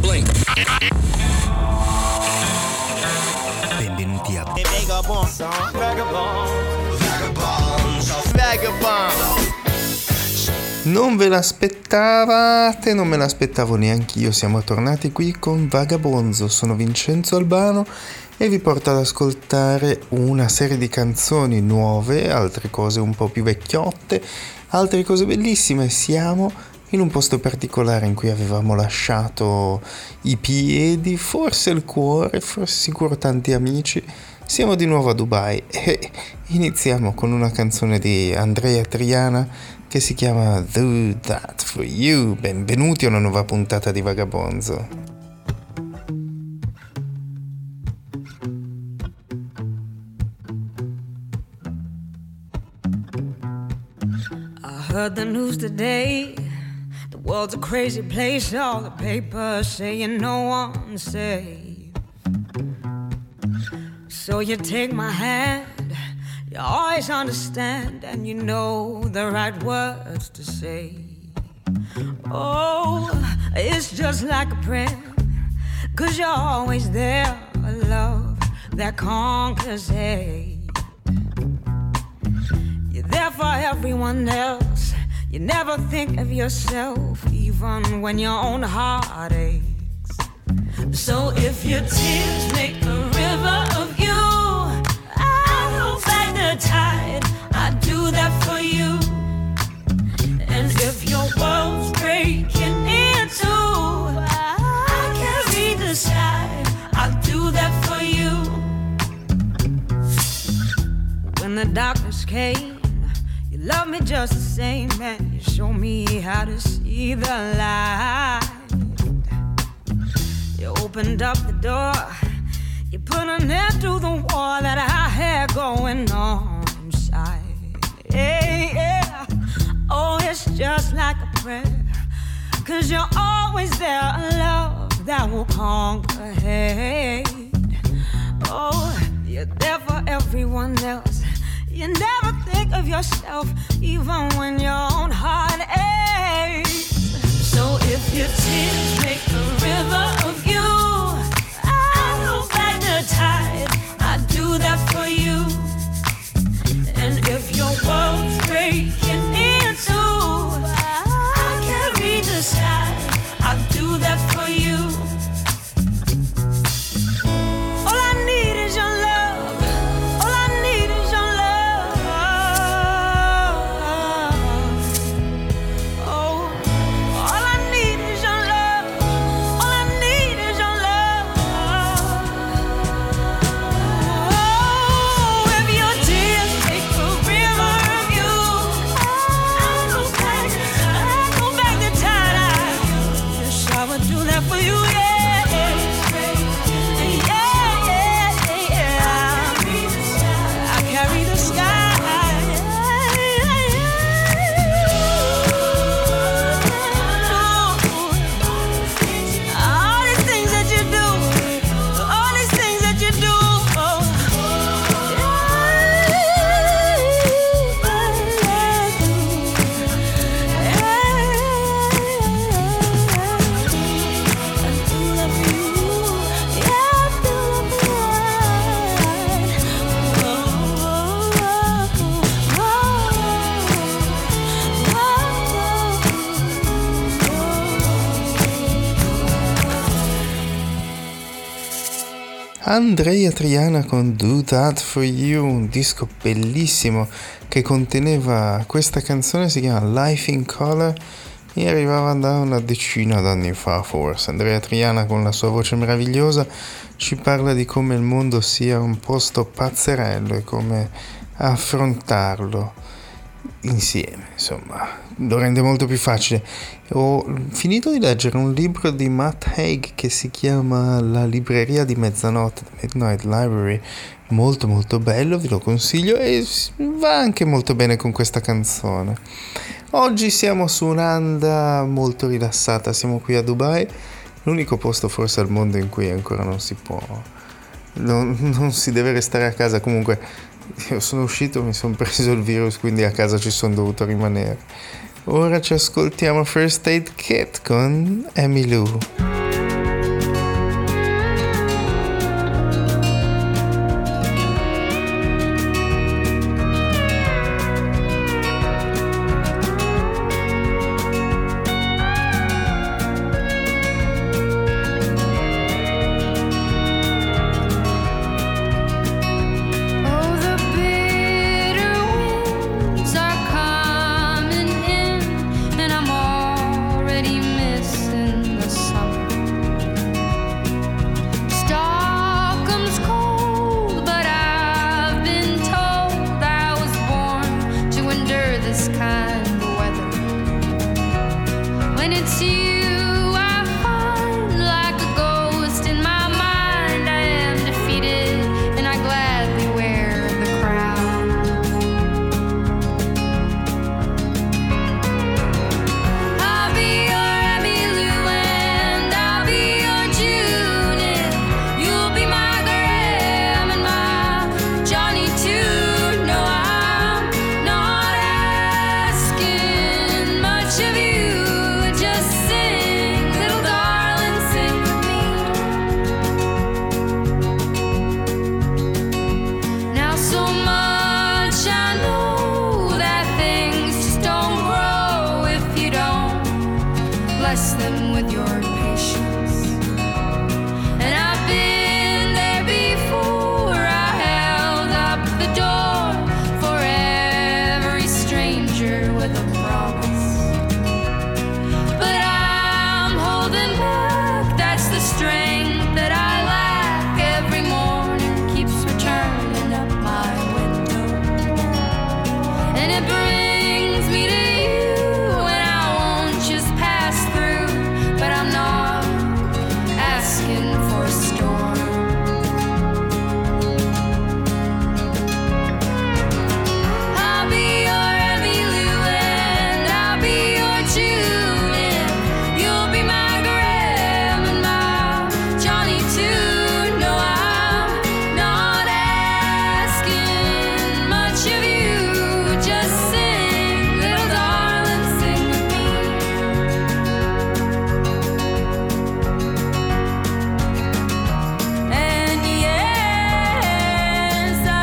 Blink. Benvenuti a Non ve l'aspettavate, non me l'aspettavo neanch'io. Siamo tornati qui con Vagabonzo. Sono Vincenzo Albano e vi porto ad ascoltare una serie di canzoni nuove, altre cose un po' più vecchiotte, altre cose bellissime. Siamo in un posto particolare in cui avevamo lasciato i piedi, forse il cuore, forse sicuro tanti amici. Siamo di nuovo a Dubai e iniziamo con una canzone di Andrea Triana che si chiama Do That For You. Benvenuti a una nuova puntata di Vagabonzo. I heard the news today. The world's a crazy place. All the papers saying no one's safe. So you take my hand, you always understand, and you know the right words to say. Oh, it's just like a prayer, 'cause you're always there, a love that conquers hate. You're there for everyone else, you never think of yourself, even when your own heart aches. So if your tears make a river of you, I'll hold back the tide, I'd do that for you. And if your world's breaking in two, I'll carry the sky, I'll do that for you. When the darkness came, you loved me just the same, and you showed me how to see the light. You opened up the door, you put an end to the war that I had going on inside. Yeah, yeah. Oh, it's just like a prayer, 'cause you're always there, a love that will conquer hate. Oh, you're there for everyone else, you never think of yourself, even when your own heart aches. So if your tears make a river of you, I'll hold back the tide, I'd do that for you. And if your world's breaking in two, I'll carry the sky, I'll do that for you. All I need is your love, all I need is your love. Oh, all I need is your love, all I need is your love. Oh, if your tears make a river of you, I'll go back the tide. Yes, I would do that for you, yeah. Yeah, yeah, yeah. I carry the sky. All these things that you do, all these things that you do. Andrea Triana con Do That For You, un disco bellissimo che conteneva questa canzone, si chiama Life in Color e arrivava da una decina d'anni fa forse. Andrea Triana con la sua voce meravigliosa ci parla di come il mondo sia un posto pazzerello e come affrontarlo insieme, insomma, lo rende molto più facile. Ho finito di leggere un libro di Matt Haig che si chiama La libreria di mezzanotte, The Midnight Library, molto molto bello, vi lo consiglio e va anche molto bene con questa canzone. Oggi siamo su un'anda molto rilassata, siamo qui a Dubai, l'unico posto forse al mondo in cui ancora non si può, non si deve restare a casa. Comunque io sono uscito, mi sono preso il virus, quindi a casa ci sono dovuto rimanere. Ora ci ascoltiamo First Aid Kit con Emmylou. asking with your patience. And I've been there before. I held up the door for every stranger with a promise. But I'm holding back, that's the strength that I lack. Every morning keeps returning up my window, and it brings me to you, and I won't just pass through, but I'm not asking for a storm. I'll be your Emmylou and I'll be your Julian. You'll be my Graham and my Johnny too. No, I'm not asking much of you. Just sing, little darling, sing with me. And yes, I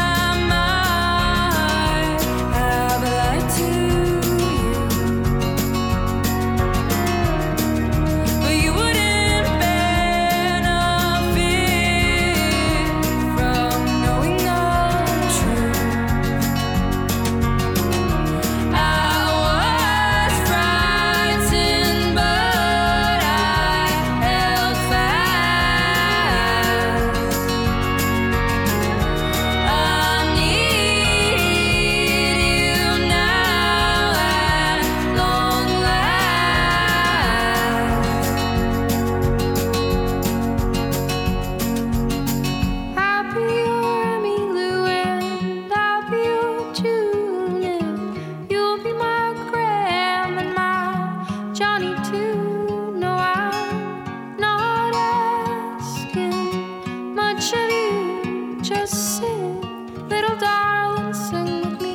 might have lied to you, but you wouldn't benefit from knowing the truth. I was frightened, but I held fast. I need you now at long last. I'll be your Emmylou and I'll be your Julian. You'll be my Graham and my Johnny too. No, I'm not asking much of you. Just sing, little darling, sing with me.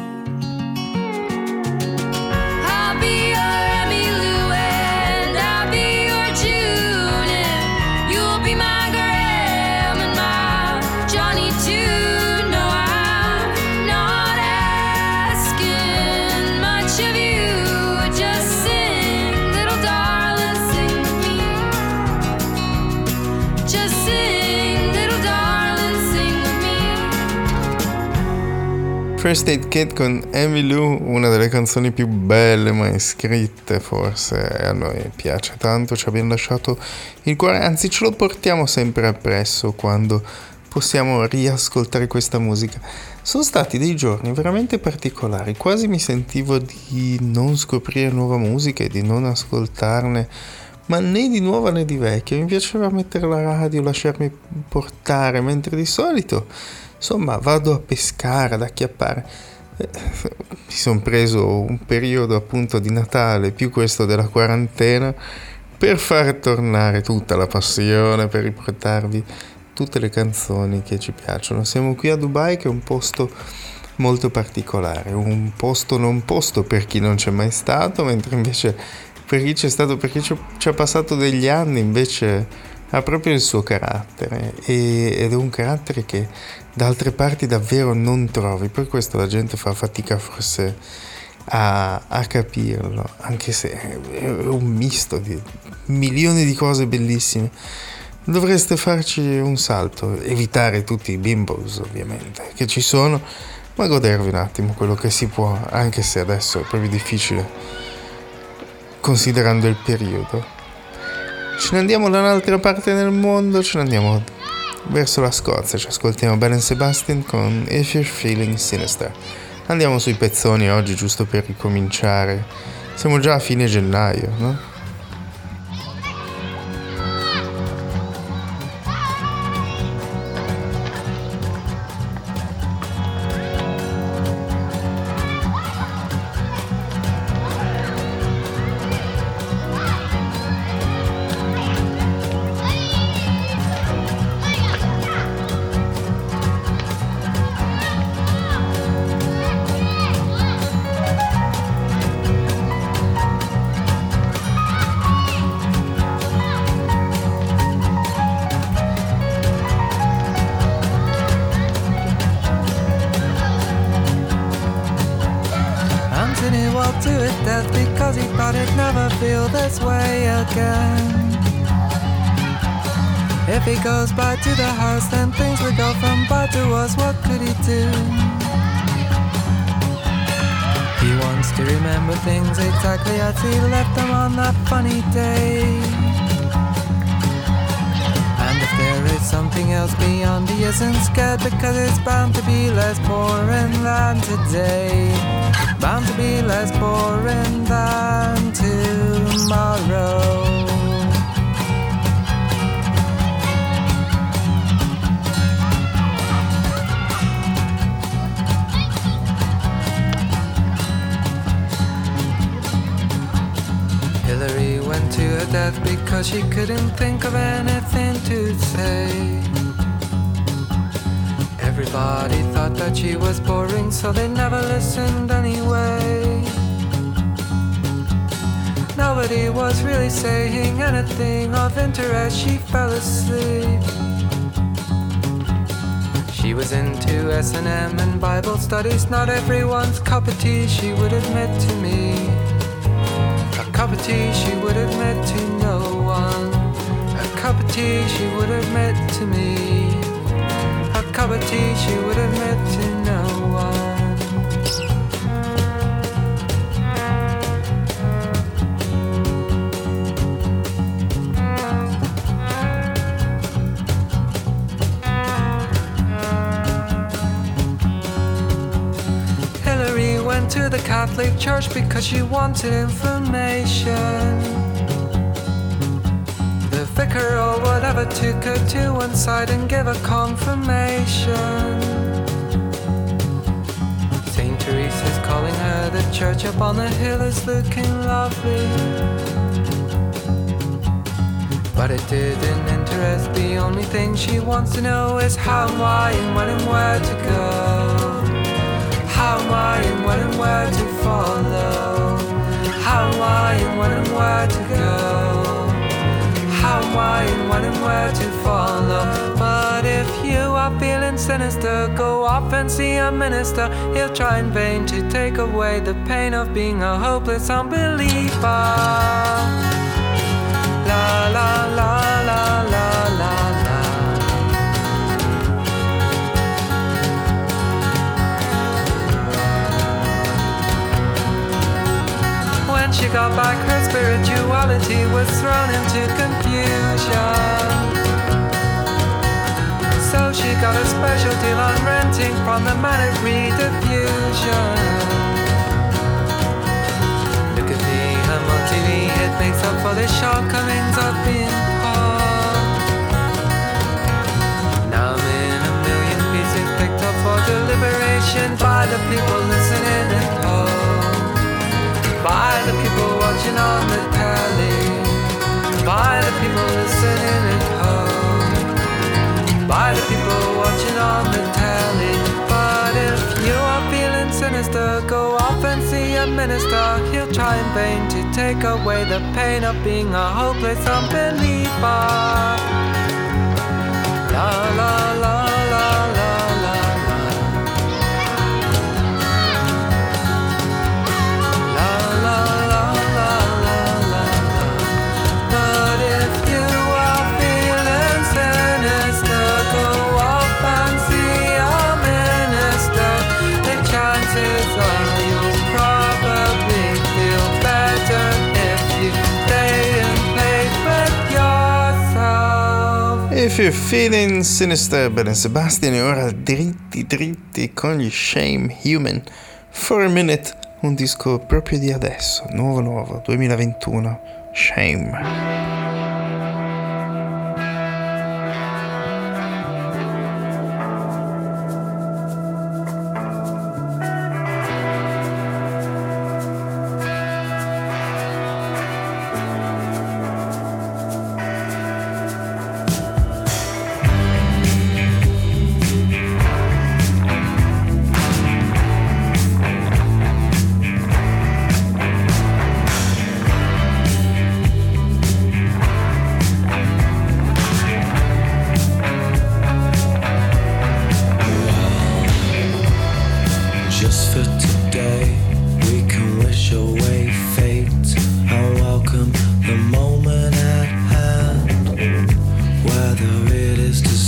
I'll be your Emmylou and I'll be your Julian. You'll be my Graham and my Johnny too. No, I'm not asking much of you. Just sing, little darling, sing with me. Just sing, little darling, sing with me. First Aid Kit con Emmylou, una delle canzoni più belle mai scritte, forse, e a noi piace tanto, ci abbiamo lasciato il cuore, anzi ce lo portiamo sempre appresso quando possiamo riascoltare questa musica. Sono stati dei giorni veramente particolari, quasi mi sentivo di non scoprire nuova musica e di non ascoltarne, ma né di nuova né di vecchia. Mi piaceva mettere la radio, lasciarmi portare, mentre di solito, insomma, vado a pescare, ad acchiappare. Mi sono preso un periodo appunto di Natale, più questo della quarantena, per far tornare tutta la passione, per riportarvi tutte le canzoni che ci piacciono. Siamo qui a Dubai, che è un posto molto particolare, un posto non posto per chi non c'è mai stato, mentre invece per chi c'è stato, perché ci ha passato degli anni, invece ha proprio il suo carattere, ed è un carattere che da altre parti davvero non trovi. Per questo la gente fa fatica forse a capirlo, anche se è un misto di milioni di cose bellissime. Dovreste farci un salto, evitare tutti i bimbos ovviamente che ci sono, ma godervi un attimo quello che si può, anche se adesso è proprio difficile considerando il periodo. Ce ne andiamo da un'altra parte del mondo, ce ne andiamo verso la Scozia, ci ascoltiamo Belle & Sebastian con If You're Feeling Sinister. Andiamo sui pezzoni oggi, giusto per ricominciare. Siamo già a fine gennaio, no? 'cause he thought he'd never feel this way again. If he goes back to the house, then things would go from bad to worse. What could he do? He wants to remember things exactly as he left them on that funny day. And if there is something else beyond, he isn't scared, because it's bound to be less boring than today. Bound to be less boring than tomorrow. Hillary went to her death because she couldn't think of anything to say. Everybody thought that she was boring, so they never listened anyway. Nobody was really saying anything of interest. She fell asleep. She was into S&M and Bible studies, not everyone's cup of tea, she would admit to me. A cup of tea she would admit to no one. A cup of tea she would admit to me. A cup of tea she would admit to no one. Hillary went to the Catholic Church because she wanted information. The vicar or whatever took her to one side and gave her confirmation. Saint Teresa's calling her, the church up on the hill is looking lovely. But it didn't interest, the only thing she wants to know is how, why, and when and where to go. How, why, and when and where to follow. How, why, and when and where to go. How, why, and when and where to follow. But if you are feeling sinister, go off and see a minister. He'll try in vain to take away the pain of being a hopeless unbeliever. La la la la la la la. When she got back, her spirituality was thrown into confusion. So she got a special deal on renting from the Manic Rediffusion. Look at me, I'm on TV, it makes up for the shortcomings of being poor. Now I'm in a million pieces picked up for deliberation by the people listening at home. By the people watching on the telly. By the people listening at home. By the people watching on the telly. But if you are feeling sinister, go off and see a minister. He'll try in vain to take away the pain of being a hopeless unbeliever. La la la la la la la. La la la la la la. But if you are feeling sinister, go off and see a minister. The chances are you'll probably feel better if you stay and play with yourself. If you're feeling sinister, Belen Sebastian, e ora dritti con gli Shame Human. For a Minute, un disco proprio di adesso, nuovo, 2021, Shame.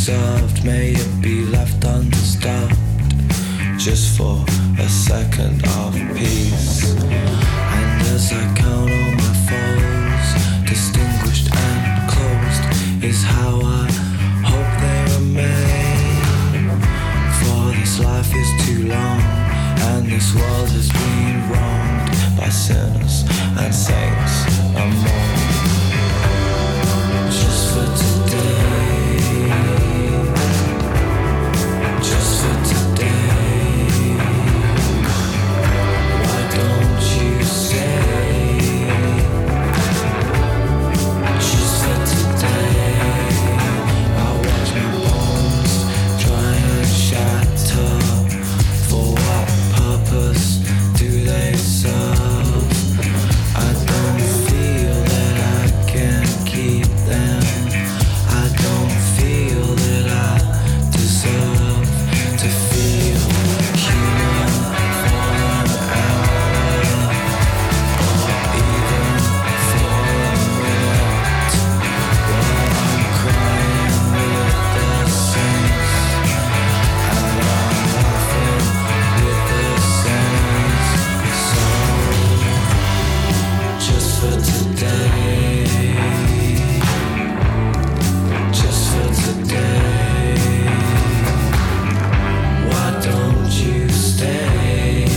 deserved. May it be left undisturbed, just for a second of peace. And as I count all my foes, distinguished and closed, is how I hope they remain. For this life is too long, and this world has been wronged by sinners and saints and more. Just for today, just for today, why don't you say, just for today, I watch my bones try and shatter. For what purpose do they serve? I don't feel that I can keep them. I don't feel that I deserve to feel human for an hour, or even for a minute, while I'm crying with the saints, and I'm laughing with the saints. So just for today, just for today, why don't you stay?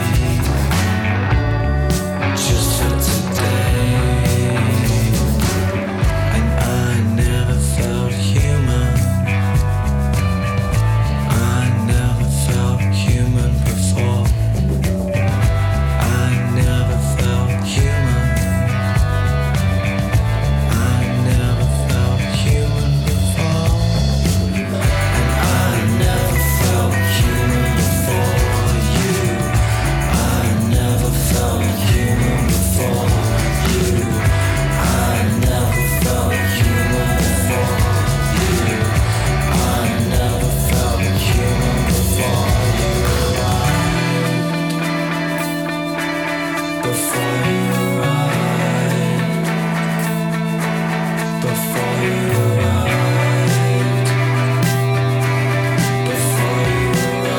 Just for today, and I never felt human. I never felt human before. I never felt human. I never felt human before. And I never felt human before you. I never felt human before you. I never felt human before you. I never felt human before you arrived. Before you arrived. Before you arrived. Before you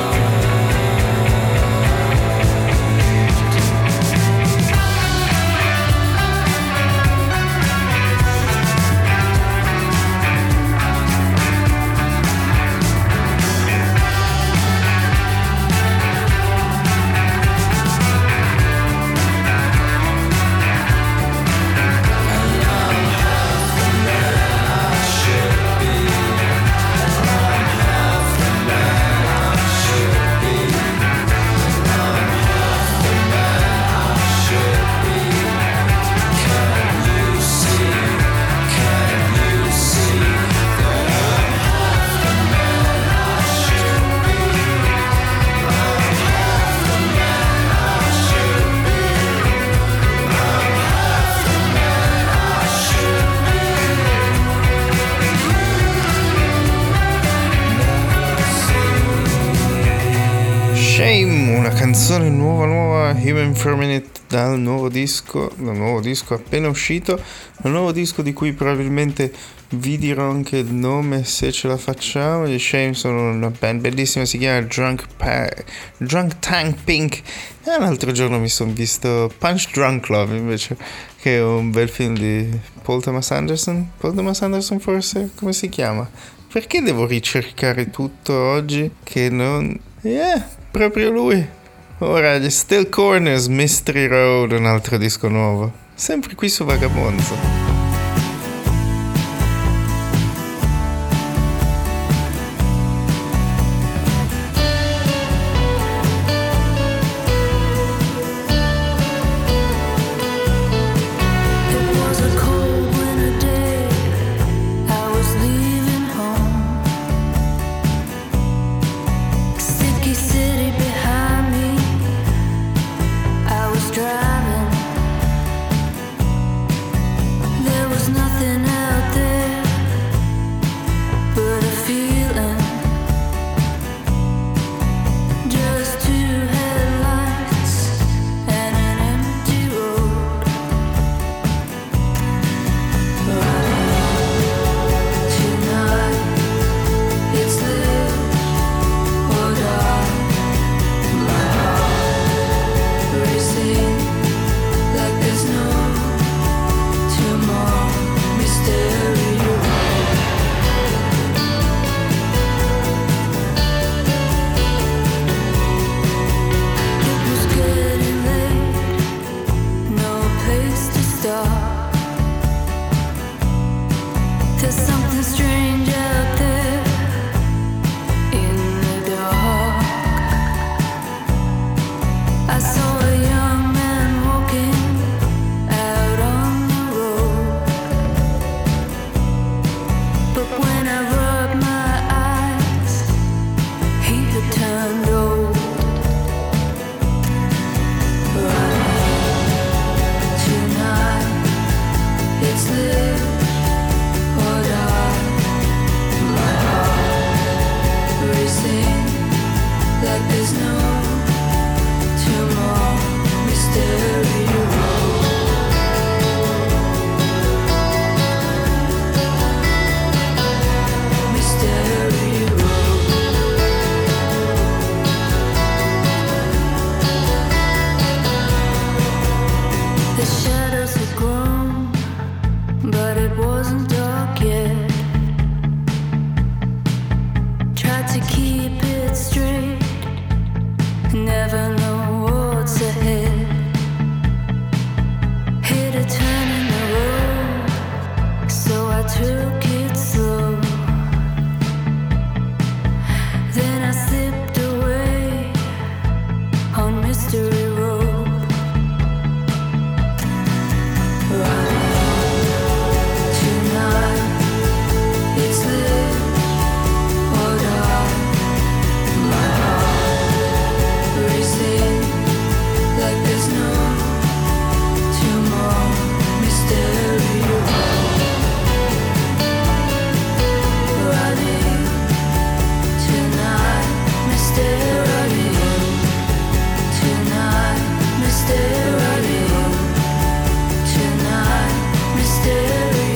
Shame, una canzone nuova, Human for a Minute, dal nuovo disco appena uscito, un nuovo disco di cui probabilmente vi dirò anche il nome se ce la facciamo. Gli Shame sono una band bellissima, si chiama Drunk Tank Pink. E l'altro giorno mi sono visto Punch Drunk Love invece, che è un bel film di Paul Thomas Anderson forse, come si chiama? Perché devo ricercare tutto oggi che non... proprio lui. Ora gli Still Corners, Mystery Road, un altro disco nuovo, sempre qui su Vagabonzo. Driving There's something strange out there in the dark. I saw a young man walking out on the road, but when I rubbed my eyes, he had turned old. Right tonight, it's live or die. My heart racing like there's no tomorrow. Mystery road. Mystery road. The shadows had grown, but it wasn't dark yet. Tried to keep it straight, never know what's ahead. Hit a turn in the road, so I took it slow. Then I slipped away on Mystery Road. Tonight, it's live or die. My heart racing like there's no tomorrow. Mystery road. Running tonight, mystery. Tonight, mystery. Tonight, mystery.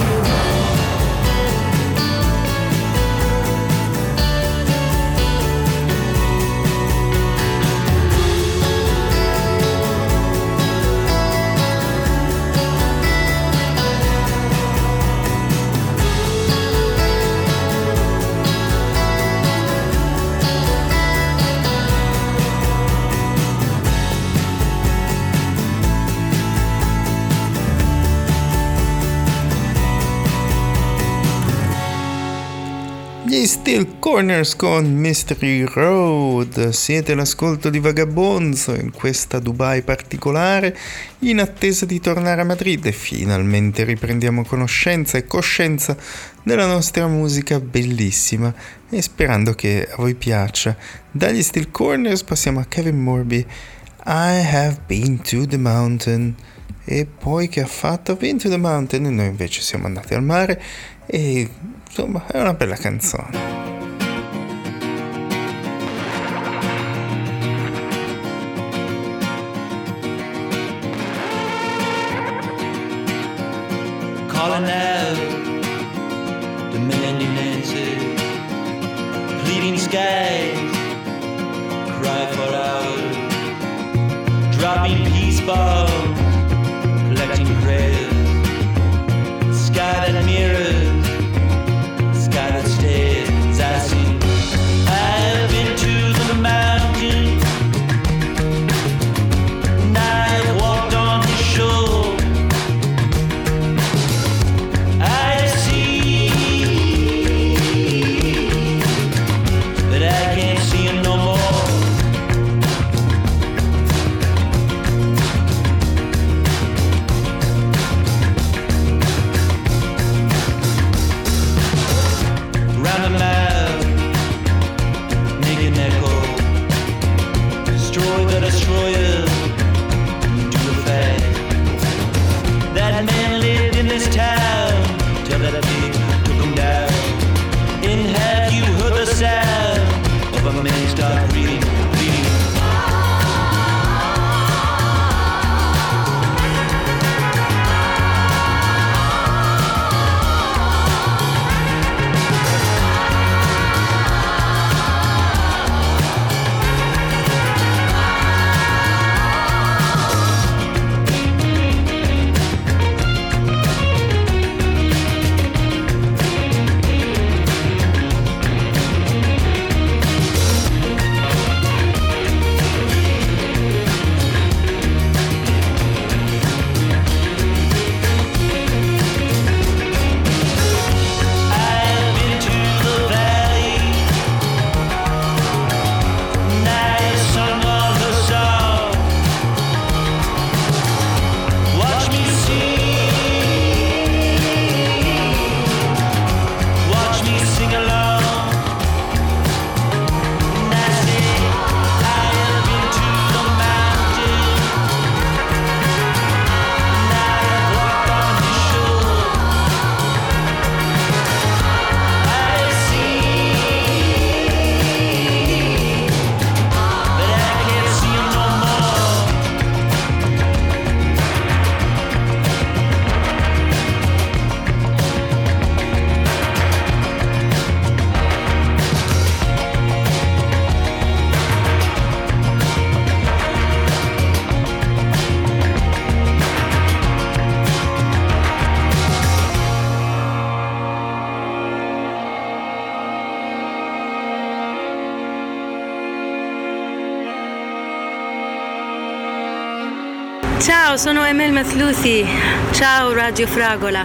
Gli Steel Corners con Mystery Road. Siete all'ascolto di Vagabonzo in questa Dubai particolare, in attesa di tornare a Madrid e finalmente riprendiamo conoscenza e coscienza della nostra musica bellissima e sperando che a voi piaccia. Dagli Steel Corners passiamo a Kevin Morby, I Have Been to the Mountain. E poi che ha fatto? Been to the Mountain, e noi invece siamo andati al mare. E insomma è una bella canzone. Calling out the millennium answers, pleading skies cry for hours, dropping peace bombs, collecting prayers, sky that mirrors, sky that stares, I sing. I've been to the mountain, and I've walked on the shore. I see, but I can't see him no more. Ciao, sono Emel Mathlouthi. Ciao Radio Fragola.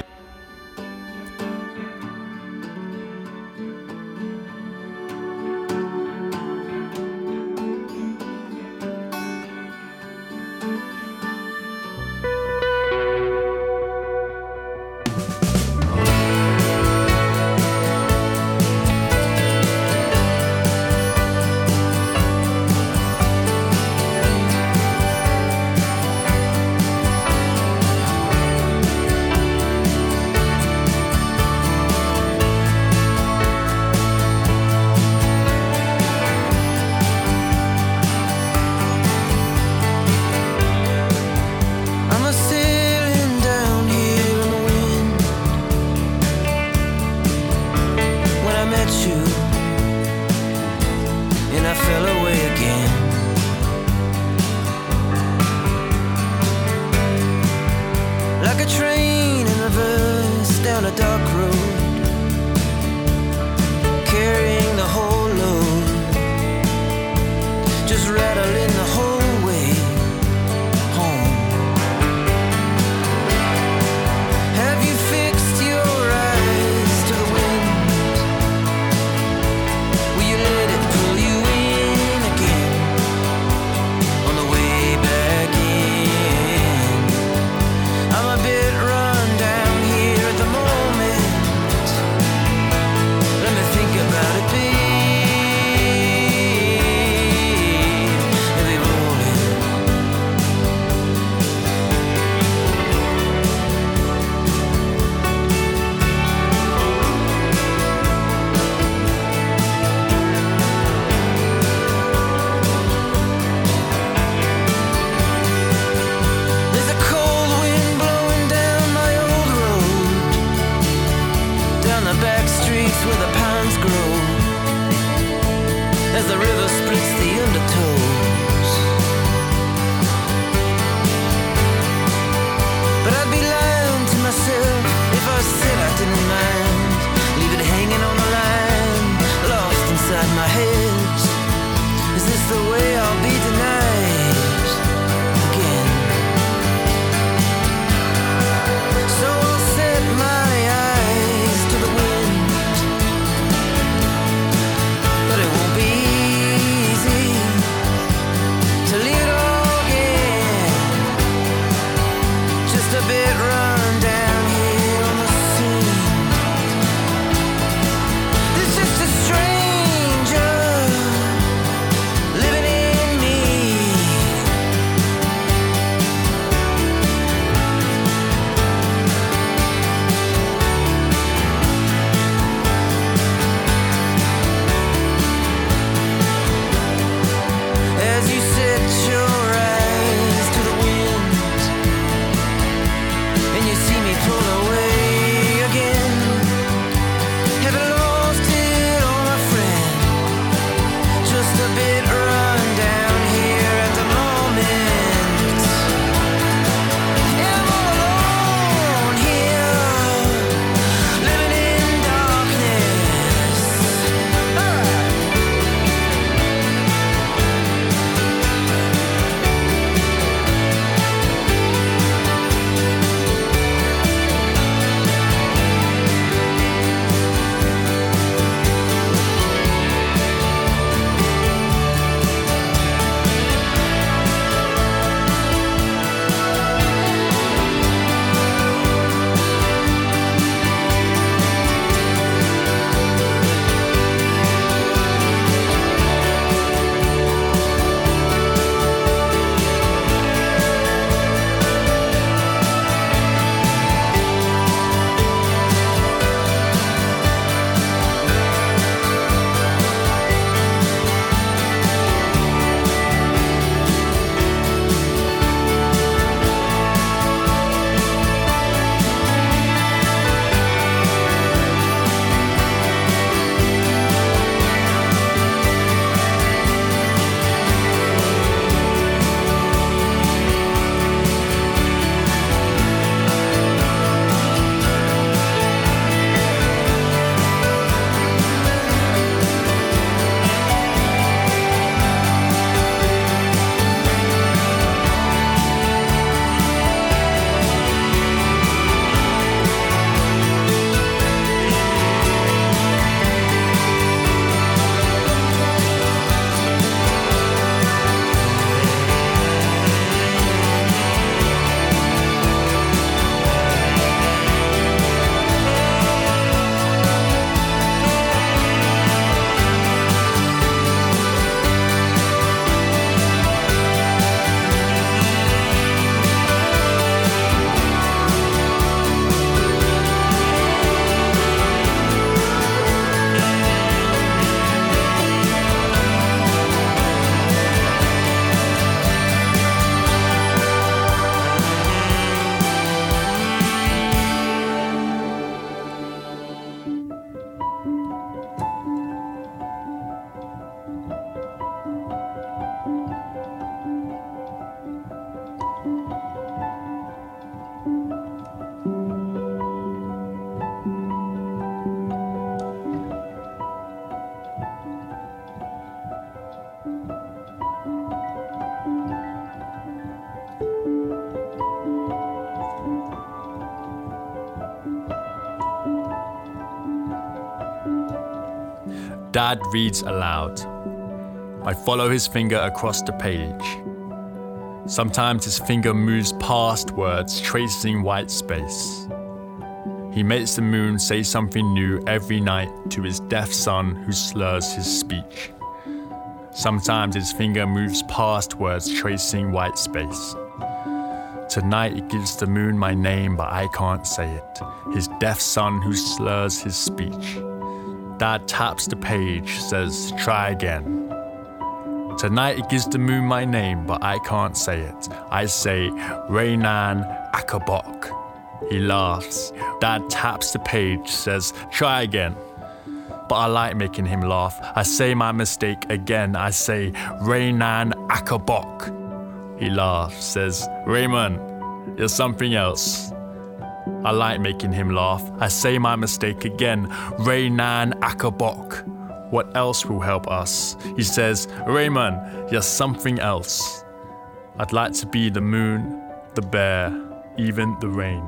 Dad reads aloud. I follow his finger across the page. Sometimes his finger moves past words, tracing white space. He makes the moon say something new every night to his deaf son who slurs his speech. Sometimes his finger moves past words, tracing white space. Tonight it gives the moon my name, but I can't say it. His deaf son who slurs his speech. Dad taps the page, says, try again. Tonight it gives the moon my name, but I can't say it. I say, Reynan Akabok. He laughs. Dad taps the page, says, try again. But I like making him laugh. I say my mistake again. I say, Reynan Akabok. He laughs, says, Raymond, you're something else. I like making him laugh. I say my mistake again. Reynan Akabok. What else will help us? He says, Raymond, you're something else. I'd like to be the moon, the bear, even the rain.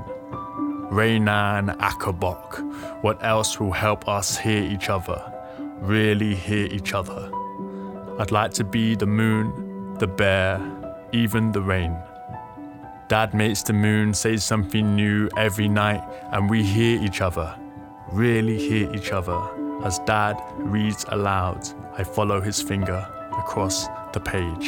Reynan Akabok. What else will help us hear each other? Really hear each other. I'd like to be the moon, the bear, even the rain. Dad makes the moon say something new every night, and we hear each other, really hear each other. As Dad reads aloud, I follow his finger across the page.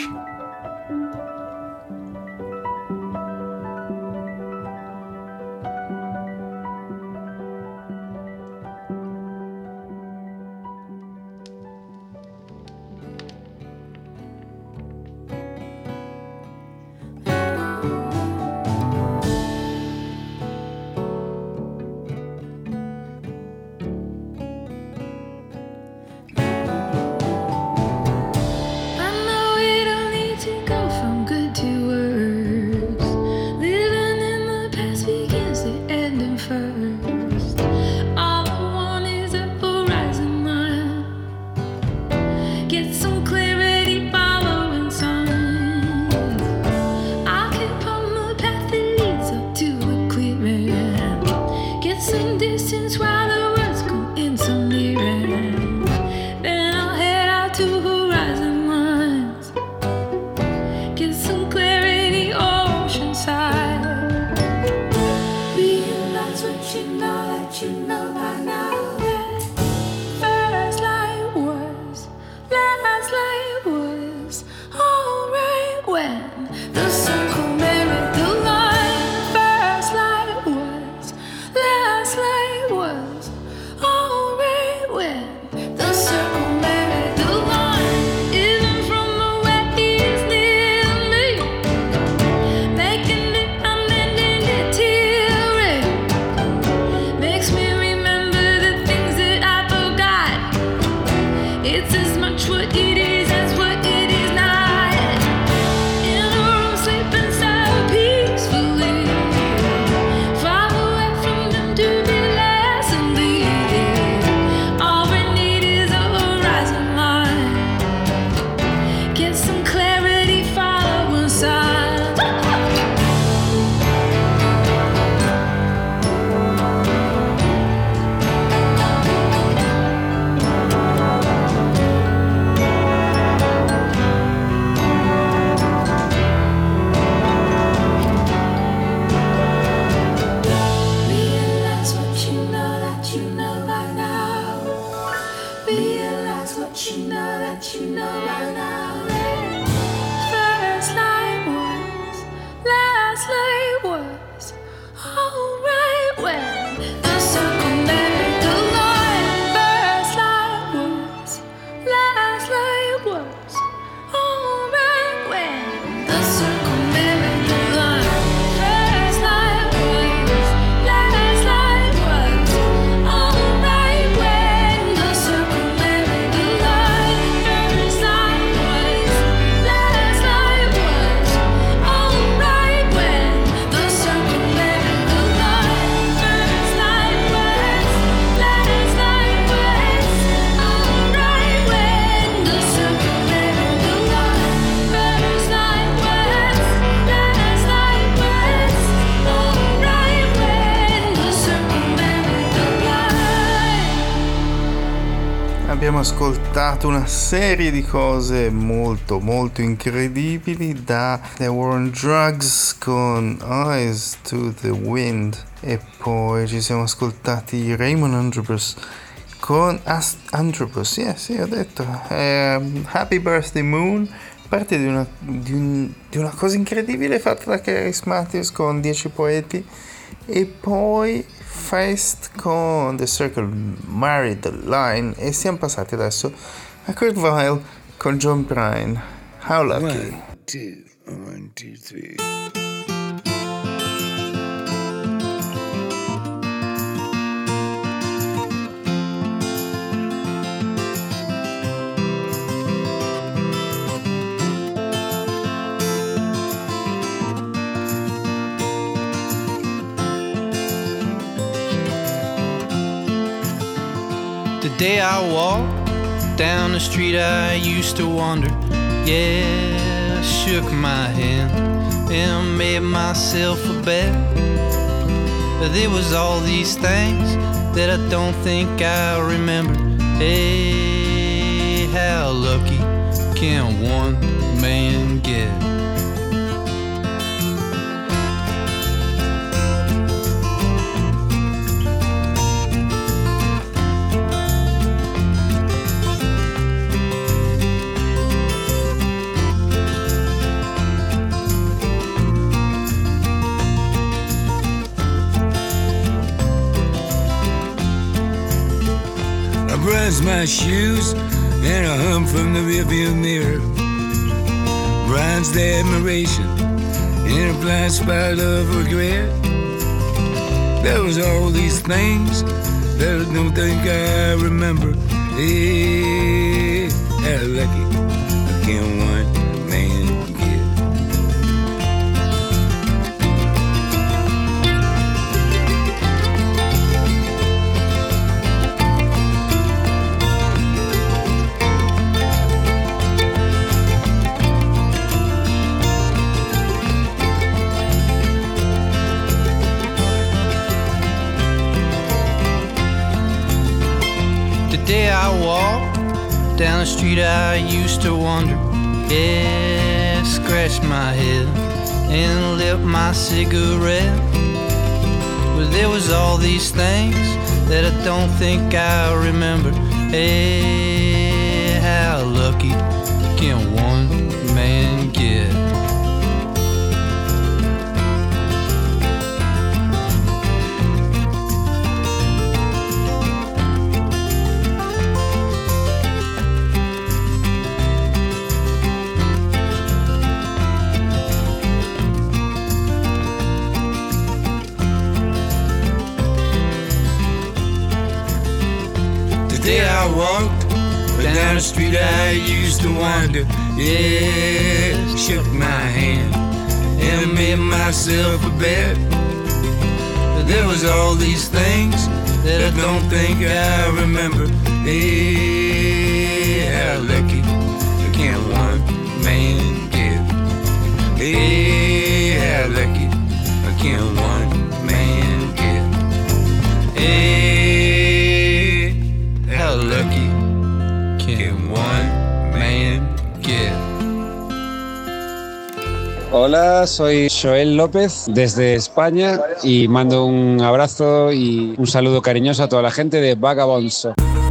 I know we don't need abbiamo ascoltato una serie di cose molto molto incredibili, da The War on Drugs con Eyes to the Wind, e poi ci siamo ascoltati Raymond Antrobus con Antrobus, sì, ho detto Happy Birthday Moon, parte di una cosa incredibile fatta da Charis Matthews con 10 poeti, e poi Feist con The Circle Married the Line, e siamo passati adesso a Kurt Weill con John Prine, How Lucky. 1, 2, 3. The day I walked down the street I used to wander, yeah, I shook my hand and made myself a bet. There was all these things that I don't think I remember. Hey, how lucky can one man get? Brush my shoes and I hum from the rearview mirror. Bronze the admiration in a blind spot of regret. There was all these things that I don't think I remember. Hey, how lucky can one man get? Day I walked down the street I used to wander, yeah, scratched my head and lit my cigarette. Well, there was all these things that I don't think I remember. Hey, how lucky can one man get? Day I walked down the street I used to wander, yeah, shook my hand and made myself a bet. There was all these things that I don't think I remember. Hey, how lucky can one man get? Hey, how lucky can one man get? Hey, how lucky can one man get? Hola, soy Joel López desde España y mando un abrazo y un saludo cariñoso a toda la gente de Vagabonso.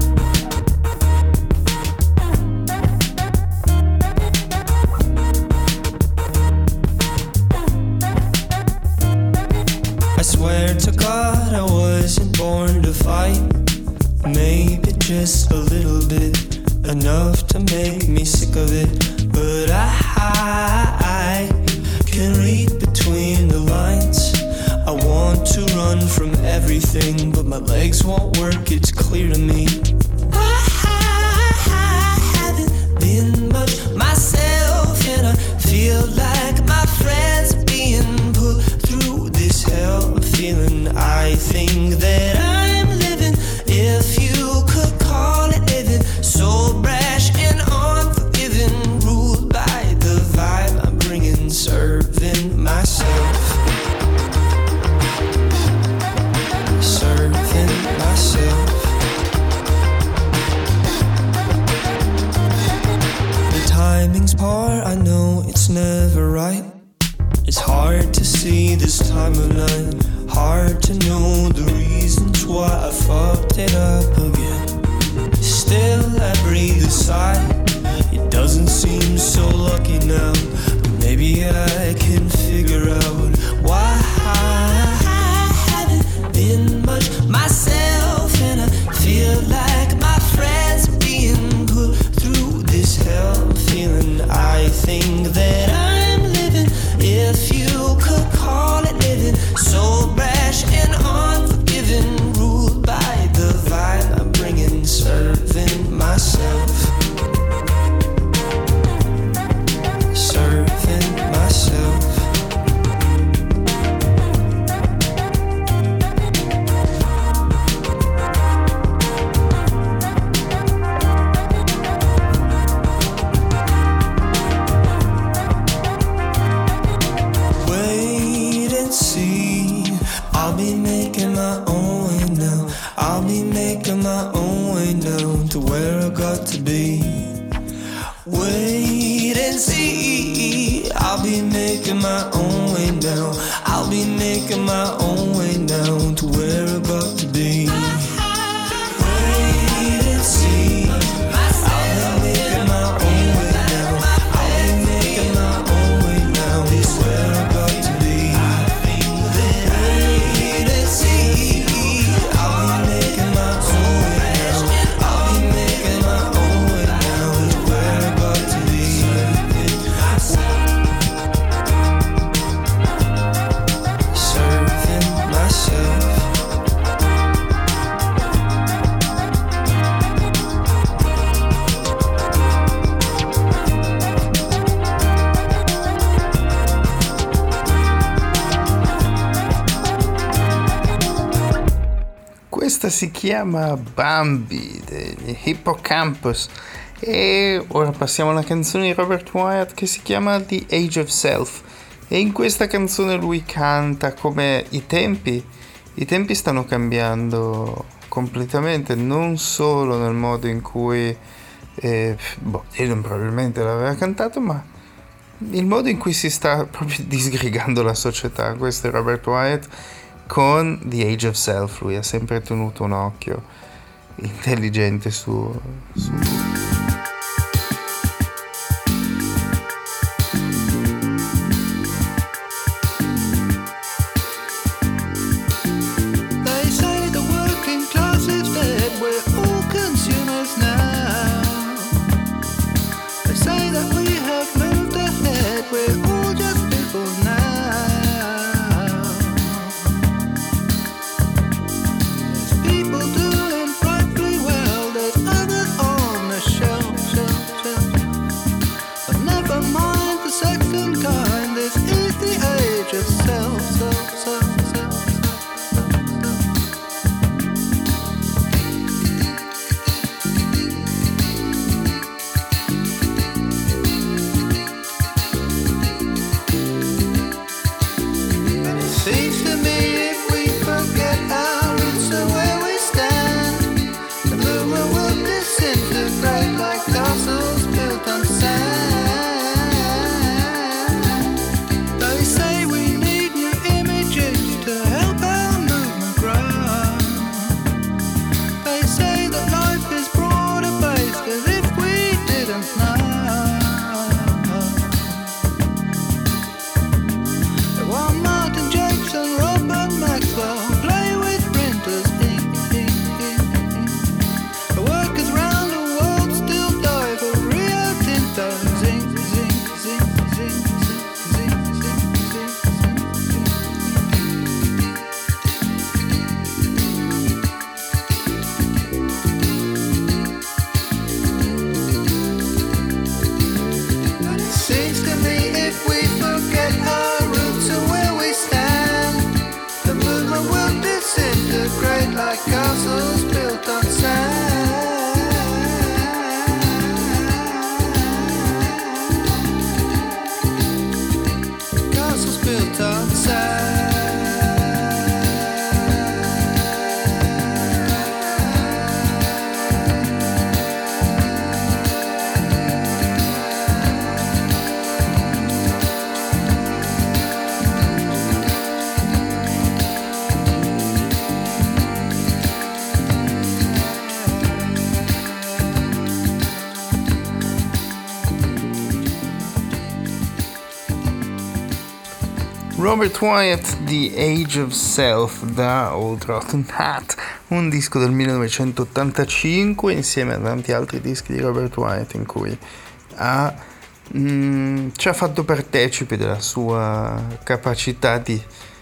I swear to God I wasn't born to fight. Maybe just a little bit, enough to make me sick of it. But I can read between the lines. I want to run from everything, but my legs won't work, it's clear to me. I haven't been much myself, and I feel like my friends are being put through this hell. Feeling I think that I'm living, if you could call it living, so brash and unforgiving, ruled by the vibe I'm bringing, serving myself, serving myself. my own way down to where I got to be. Wait and see, I'll be making my own way down. I'll be making my own way down to where I got to be. Wait and see, I'll be making my own way down. I'll be making my own way down to where I got to be. Wait and see, I'll be making my own way down. I'll be making my own way down to where I got to be. Serving myself. Questa si chiama Bambi degli Hippocampus e ora passiamo alla canzone di Robert Wyatt che si chiama The Age of Self, e in questa canzone lui canta come i tempi stanno cambiando completamente, non solo nel modo in cui Dylan probabilmente l'aveva cantato, ma il modo in cui si sta proprio disgregando la società. Questo è Robert Wyatt con The Age of Self. Lui ha sempre tenuto un occhio intelligente su They say the working class is dead, we're all consumers now. They say that we have moved ahead, we're all just people now. There's people doing frightfully well, there's others on the shelf. But never mind the second kind, this is the age of self. Seems to me if we forget our roots and where we stand, the movement will disintegrate like castles built on sand. They say we need new images to help our movement grow. They say that life is broader based as if we didn't know. While Martin Jakes and Robert Maxwell play with printers, the workers round the world still die for Rio Tinto. Zinc, zinc, zinc, zinc, zinc, zinc, zinc, Seems to me if we forget our roots and where we stand, the movement will disintegrate like castles built on sand. Castles built on sand. Robert Wyatt, The Age of Self da Old Rotten Hat, un disco del 1985 insieme a tanti altri dischi di Robert Wyatt in cui ci ha fatto partecipi della sua capacità di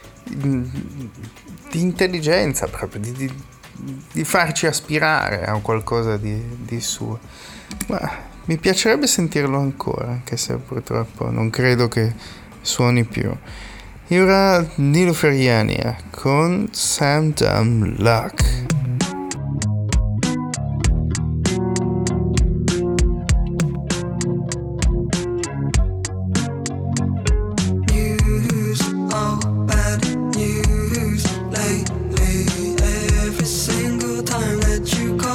intelligenza, proprio di farci aspirare a qualcosa di suo. Ma mi piacerebbe sentirlo ancora, anche se purtroppo non credo che suoni più. E ora Nilofer Yania con Some Dumb Luck. News, oh bad news lately. Every single time that you call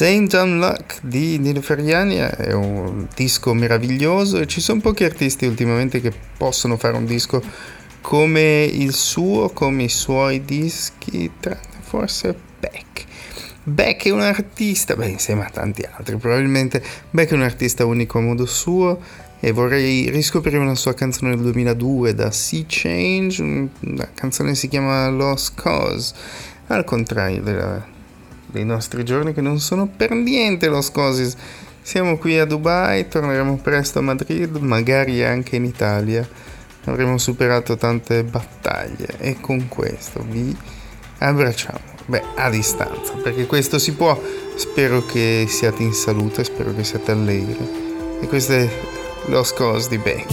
St. John Luck di Nino Ferriani è un disco meraviglioso e ci sono pochi artisti ultimamente che possono fare un disco come il suo, come i suoi dischi, tranne forse Beck. Beck è un artista, insieme a tanti altri probabilmente, Beck è un artista unico a modo suo e vorrei riscoprire una sua canzone del 2002 da Sea Change, la canzone si chiama Lost Cause, al contrario dei nostri giorni che non sono per niente Lost Causes. Siamo qui a Dubai, torneremo presto a Madrid, magari anche in Italia, avremo superato tante battaglie e con questo vi abbracciamo, a distanza, perché questo si può. Spero che siate in salute, spero che siate allegri e questo è Lost Cause di Beck.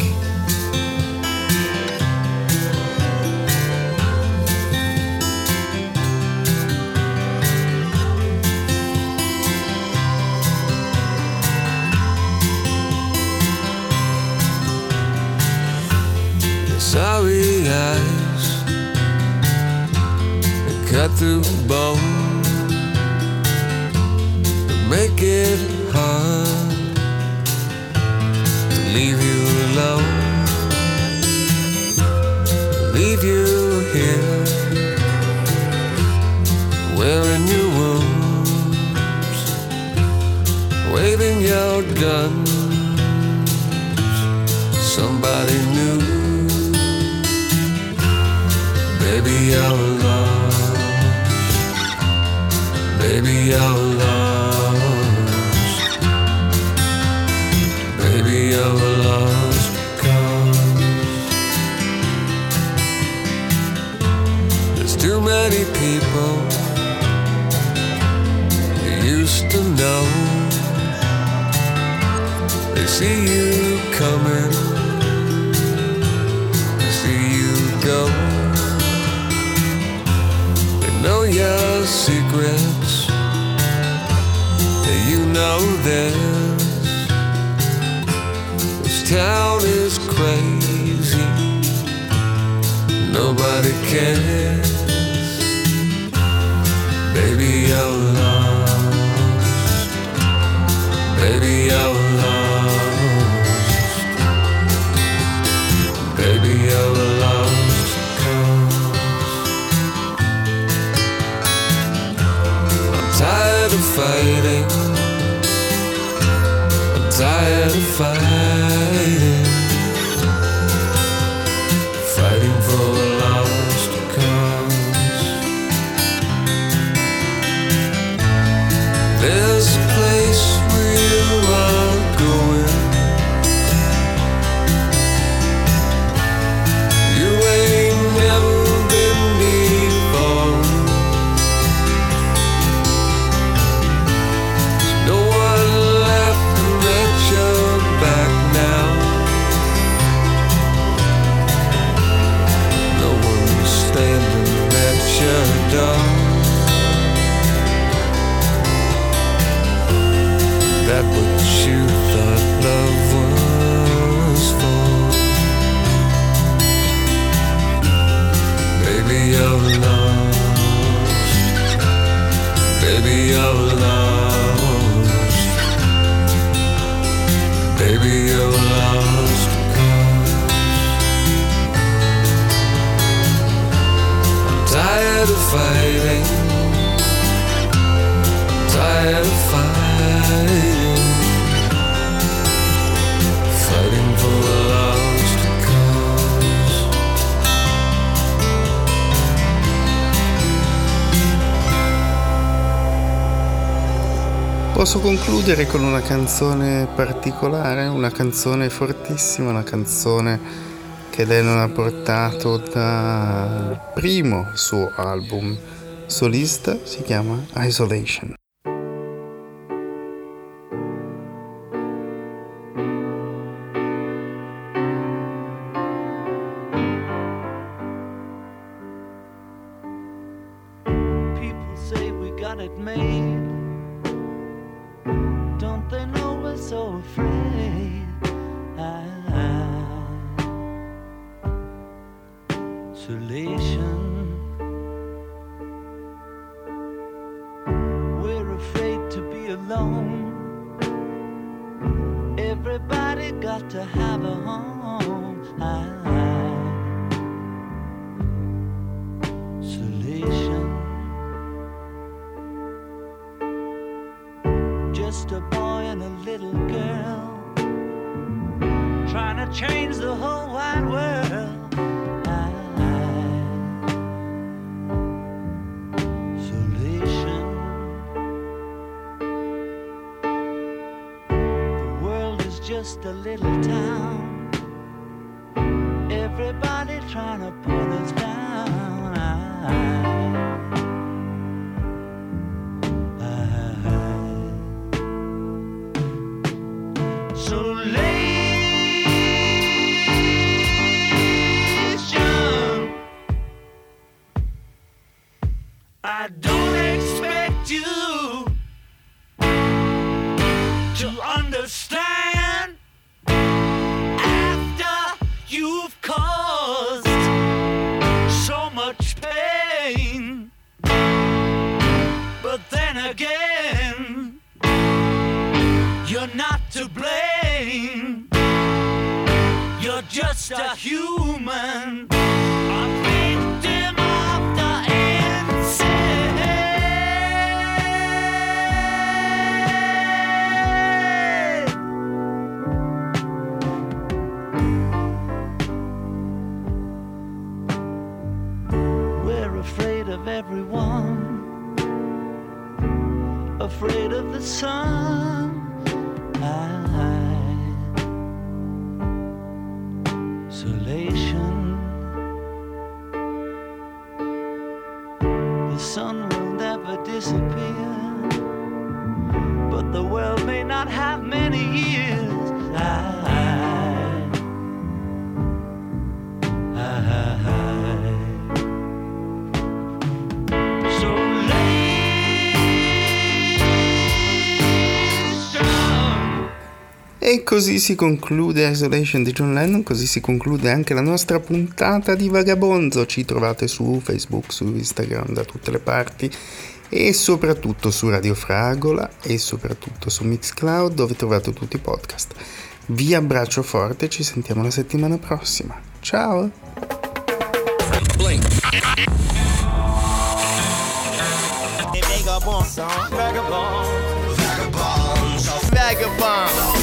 Sorry eyes that cut through bone, that make it hard to leave you alone, leave you here wearing your wounds, waving your guns. Somebody new. Baby, you're lost. Baby, you're lost. Baby, you're lost because there's too many people you used to know. They see you coming, they see you go. Know your secrets, you know this. This town is crazy, nobody cares. Baby, you're lost. Baby, you're lost. Baby, you're lost. Tired of fighting, I'm tired of fighting, fighting for a lost cause. There's a place where you are going, you ain't never been before. That what you thought love was for. Baby, you're lost. Baby, you're lost. Baby, you're lost because I'm tired of fighting, I'm tired of fighting. Fighting for a lost cause. Posso concludere con una canzone particolare, una canzone fortissima, una canzone che Lennon ha portato dal primo suo album solista, si chiama Isolation. We're afraid to be alone. alone. Everybody got to have a home. Isolation. Just a boy and a little girl trying to change the whole wide world. Isolation. The world is just a little town. Everybody trying to pull us down. I don't expect you to understand after you've caused so much pain. But then again, you're not to blame. You're just a human, a victim of the afraid of everyone, afraid of the sun. Isolation. The sun will never disappear, but the world may not have many years. E così si conclude Isolation di John Lennon, così si conclude anche la nostra puntata di Vagabonzo. Ci trovate su Facebook, su Instagram, da tutte le parti, e soprattutto su Radio Fragola e soprattutto su Mixcloud, dove trovate tutti i podcast. Vi abbraccio forte, ci sentiamo la settimana prossima. Ciao! Vagabond.